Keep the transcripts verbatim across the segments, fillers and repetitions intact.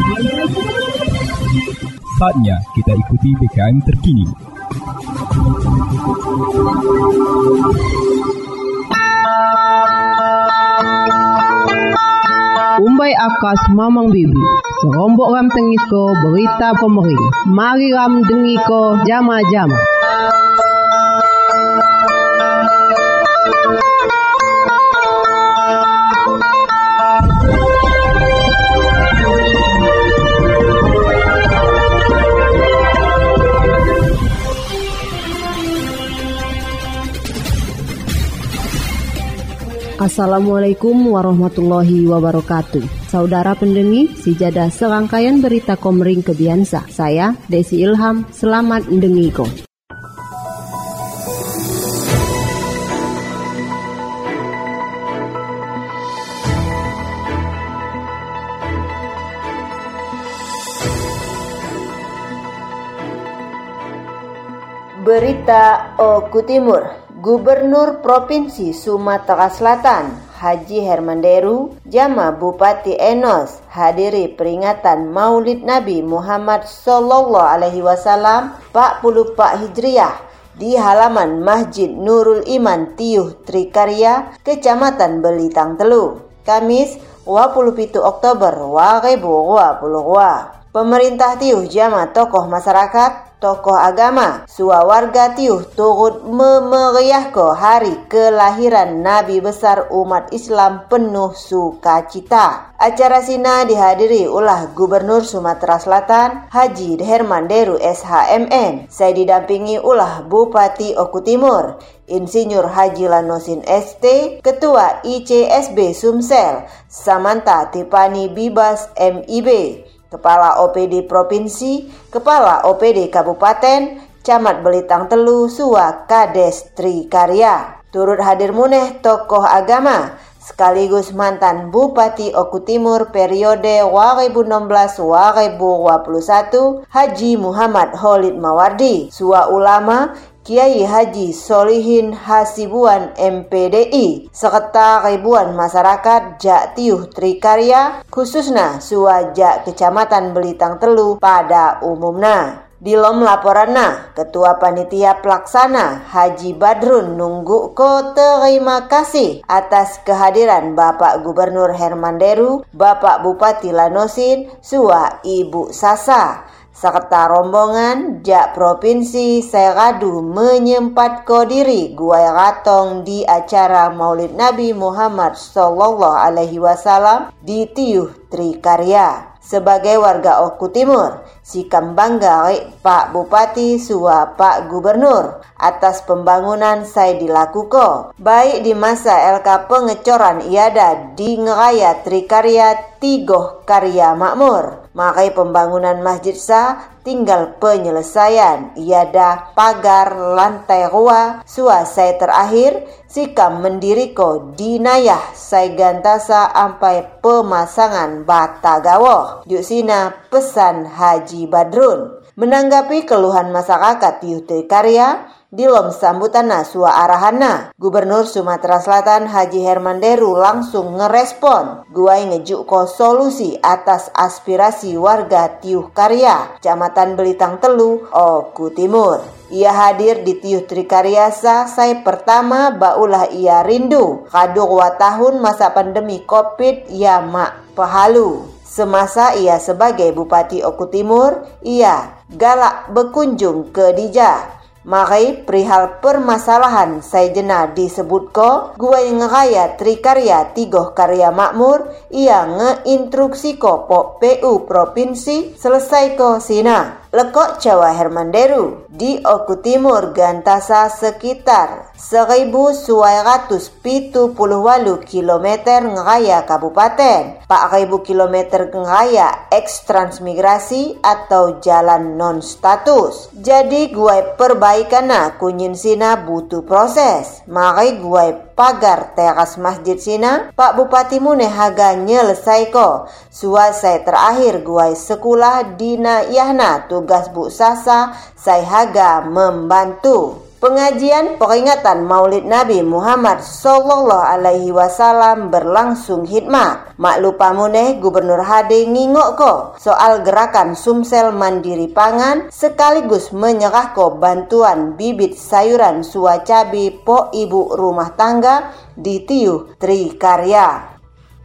Saatnya kita ikuti B K M terkini. Umbai akas mamang bibi, serombok ram tengiko berita pemering. Mari ram dengiko jama-jama. Assalamualaikum warahmatullahi wabarakatuh. Saudara pendengi, sejadah serangkaian berita Komering Kebiansa. Saya Desi Ilham, selamat mendengiko. Berita Oku Timur. Gubernur Provinsi Sumatera Selatan Haji Hermanderu jama Bupati Enos hadiri peringatan Maulid Nabi Muhammad Sallallahu Alaihi Wasallam empat puluh empat Hijriah di halaman Masjid Nurul Iman Tiuh Trikarya, Kecamatan Belitang Telu, Kamis dua puluh tujuh Oktober dua ribu dua puluh dua. Pemerintah Tiuh jama tokoh masyarakat, tokoh agama, sua warga Tiuh turut memeriahkan hari kelahiran Nabi besar umat Islam penuh sukacita. Acara sina dihadiri ulah Gubernur Sumatera Selatan Haji Hermanderu S H M N. Saya didampingi ulah Bupati Oku Timur Insinyur Haji Lanosin S T, Ketua I C S B Sumsel Samantha Tipani Bibas M I B, Kepala O P D Provinsi, Kepala O P D Kabupaten, Camat Belitang Telu, Sua Kades Trikarya. Turut hadir muneh tokoh agama sekaligus mantan Bupati Oku Timur periode dua ribu enam belas sampai dua ribu dua puluh satu Haji Muhammad Khalid Mawardi, Sua ulama Kiai Haji Solihin Hasibuan M P D I, serta ribuan masyarakat Jak Tiuh Trikarya, khususnya Sua Jak Kecamatan Belitang Telu pada umumna. Dilom laporanna, Ketua Panitia Pelaksana Haji Badrun nunggu ko terima kasih atas kehadiran Bapak Gubernur Hermanderu, Bapak Bupati Lanosin, Sua Ibu Sasa, serta rombongan Jak Provinsi Seradu menyempatkan diri guai ratong di acara Maulid Nabi Muhammad Sallallahu Alaihi Wasallam di Tiuh Trikarya. Sebagai warga Oku Timur, sikam bangga Pak Bupati sua Pak Gubernur atas pembangunan saya dilakukan, baik di masa L K pengecoran iada di Ngeraya Trikarya Tigoh Karya Makmur. Makai pembangunan masjid sa tinggal penyelesaian iada pagar lantai rua sua saya terakhir sikam mendiriko dinayah saya gantasa sampai pemasangan bata gawoh. Jusina pesan Haji Badrun. Menanggapi keluhan masyarakat Tiuh Trikarya, dilom sambutanna sua arahana, Gubernur Sumatera Selatan Haji Hermanderu langsung ngerespon, guai ngejuk ko solusi atas aspirasi warga Tiuh Karya, Kecamatan Belitang Telu, Oku Timur. Ia hadir di Tiuh Trikarya sa saya pertama baulah ia rindu kadu dua tahun masa pandemi Covid ya mak pehalu. Semasa ia sebagai Bupati Oku Timur, ia galak berkunjung ke Dija. Mari perihal permasalahan saya jena disebut ko, guai ngeraya Trikarya Tigoh Karya Makmur, ia ngeinstruksi ko po P U Provinsi selesai ko sina. Lekok Jawa Hermanderu di Oku Timur gantasa sekitar seribu sembilan ratus tujuh puluh delapan kilometer ngeraya kabupaten, empat ribu kilometer ngeraya eks transmigrasi atau jalan non status. Jadi gue perbaikan kunyin sina butuh proses. Mari gue pagar teras masjid sina, Pak Bupati muneh haga nyelesai ko. Suasai terakhir gue sekolah dina yahna tugas Bu Sasa, saya haga membantu. Pengajian peringatan Maulid Nabi Muhammad sallallahu alaihi wasallam berlangsung hikmat. Mak lupa muneh Gubernur H D ngingok ko soal gerakan Sumsel Mandiri Pangan sekaligus menyerah ko bantuan bibit sayuran sua cabi po ibu rumah tangga di Tiuh Trikarya.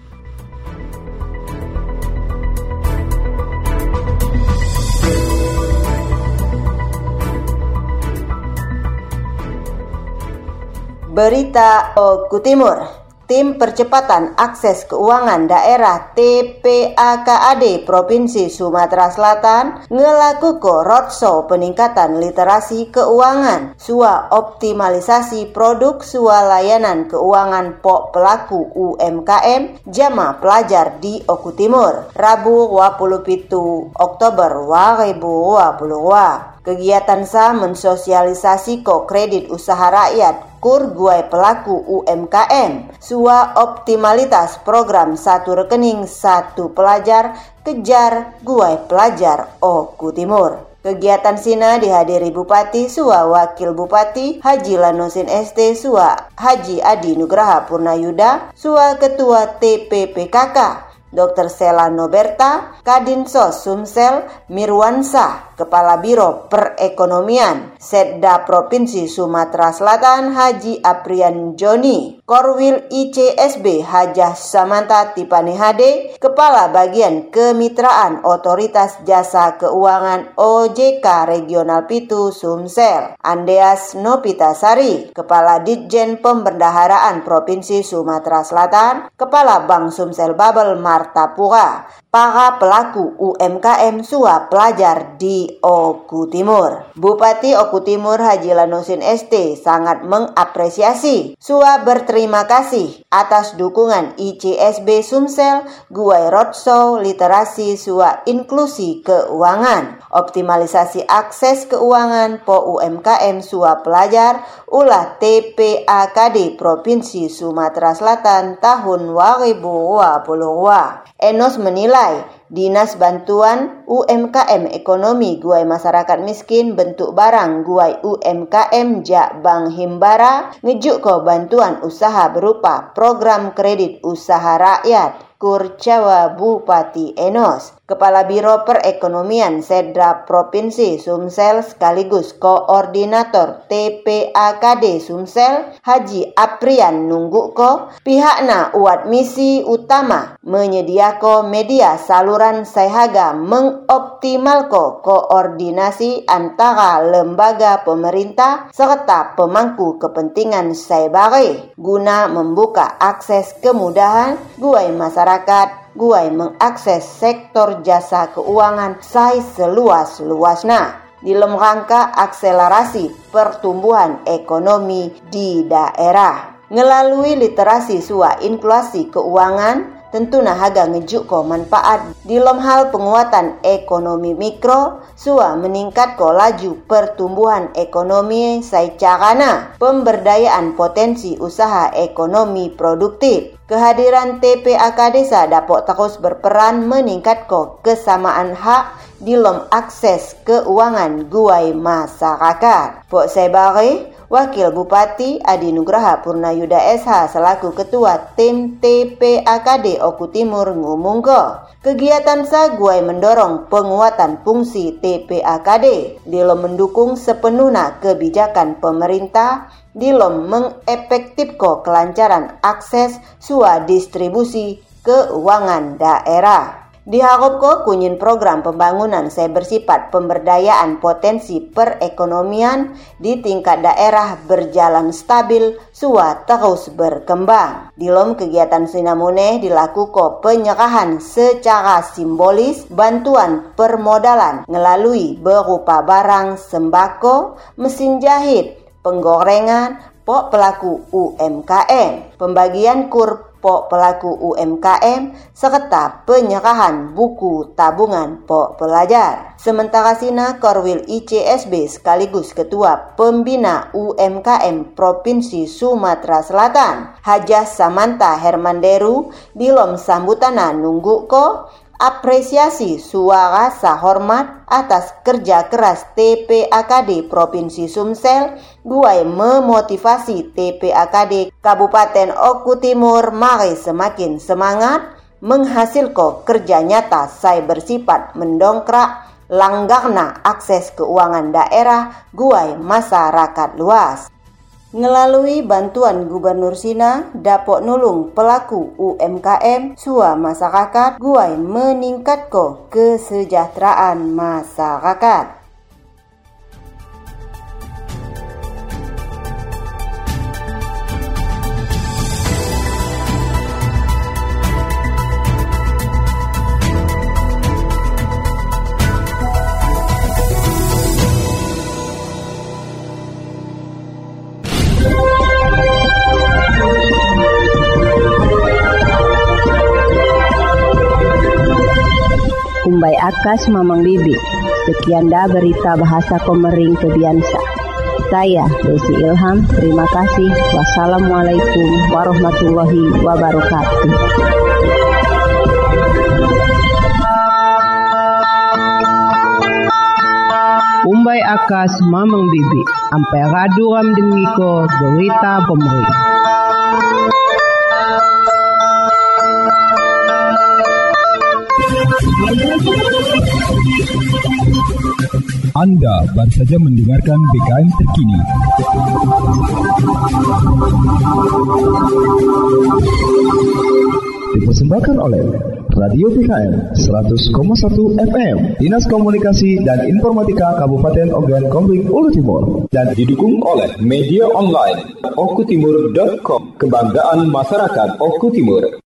Berita Oku Timur, Tim Percepatan Akses Keuangan Daerah T P A K A D Provinsi Sumatera Selatan ngelakuko roadshow peningkatan literasi keuangan, sua optimalisasi produk sua layanan keuangan po pelaku U M K M jama pelajar di Oku Timur, Rabu dua puluh pitu Oktober dua ribu dua puluh dua. Kegiatan sa mensosialisasi ko kredit usaha rakyat kur guai pelaku U M K M, sua optimalitas program satu rekening satu pelajar kejar guai pelajar Oku Timur. Kegiatan sina dihadiri Bupati sua Wakil Bupati Haji Lanosin S T sua Haji Adi Nugraha Purnayuda sua Ketua T P P K K Dokter Sela Noberta, Kadinsos Sumsel Mirwansa, Kepala Biro Perekonomian Setda Provinsi Sumatera Selatan Haji Aprian Joni, Korwil I C S B Hajah Samanta Tipani H D, Kepala Bagian Kemitraan Otoritas Jasa Keuangan O J K Regional Pitu Sumsel, Andeas Nopitasari, Kepala Ditjen Pembendaharaan Provinsi Sumatera Selatan, Kepala Bank Sumsel Babel Martapura, para pelaku U M K M sua pelajar di Oku Timur. Bupati Oku Timur Haji Lanosin S T sangat mengapresiasi sua berterima kasih atas dukungan I C S B Sumsel guai roadshow literasi sua inklusi keuangan, optimalisasi akses keuangan po U M K M sua pelajar ulah T P A K D Provinsi Sumatera Selatan tahun dua ribu dua puluh dua. Enos menilai Dinas Bantuan U M K M Ekonomi Guai Masyarakat Miskin bentuk barang Guai U M K M Jak Bank Himbara ngejuk ko bantuan usaha berupa program kredit usaha rakyat Kurcawa Bupati Enos. Kepala Biro Perekonomian Setda Provinsi Sumsel sekaligus Koordinator T P A K D Sumsel Haji Aprian nungguko pihakna uat misi utama menyediako media saluran sahaga mengoptimalko koordinasi antara lembaga pemerintah serta pemangku kepentingan saibare guna membuka akses kemudahan guai masyarakat guai mengakses sektor jasa keuangan sai seluas-luasna dalam rangka akselerasi pertumbuhan ekonomi di daerah. Ngelalui literasi sua inklusi keuangan tentu nah haga ngejuk ko manfaat dalam hal penguatan ekonomi mikro sua meningkat ko laju pertumbuhan ekonomi secarana pemberdayaan potensi usaha ekonomi produktif. Kehadiran T P A K D sa dapat terus berperan meningkat ko kesamaan hak dalam akses keuangan guai masyarakat. Pok Sebare Wakil Bupati Adi Nugraha Purnayuda S H selaku Ketua Tim T P A K D Oku Timur ngomong ko kegiatan sa guai mendorong penguatan fungsi T P A K D dalam mendukung sepenuhnya kebijakan pemerintah dalam mengefektifkan kelancaran akses sua distribusi keuangan daerah. Diharapkan kunyin program pembangunan saya bersifat pemberdayaan potensi perekonomian di tingkat daerah berjalan stabil sua terus berkembang. Dalam kegiatan sinamune dilakukan penyerahan secara simbolis bantuan permodalan melalui berupa barang sembako, mesin jahit, penggorengan, po pelaku U M K M, pembagian kur po pelaku U M K M, serta penyerahan buku tabungan po pelajar. Sementara sina Korwil I C S B sekaligus Ketua Pembina U M K M Provinsi Sumatera Selatan, Hajah Samanta Hermanderu, dilom sambutana nunggu ko apresiasi suara hormat atas kerja keras T P A K D Provinsi Sumsel, guai memotivasi T P A K D Kabupaten Oku Timur mari semakin semangat menghasilkan kerja nyata saya bersifat mendongkrak langgarna akses keuangan daerah guai masyarakat luas. Melalui bantuan Gubernur Sina dapat nulung pelaku U M K M sua masyarakat guai meningkatkan kesejahteraan masyarakat. Umbai akas Mamang Bibi. Sekian dah berita bahasa Komering Kebiansa. Saya Desi Ilham, terima kasih. Wassalamualaikum warahmatullahi wabarakatuh. Umbai akas Mamang Bibi. Ampai radu ram dengiko berita Komering. Anda baru saja mendengarkan B K M terkini. Dipersembahkan oleh Radio B K M seratus koma satu F M, Dinas Komunikasi dan Informatika Kabupaten Ogan Komering Ulu Timur, dan didukung oleh media online okutimur dot com, kebanggaan masyarakat Oku Timur.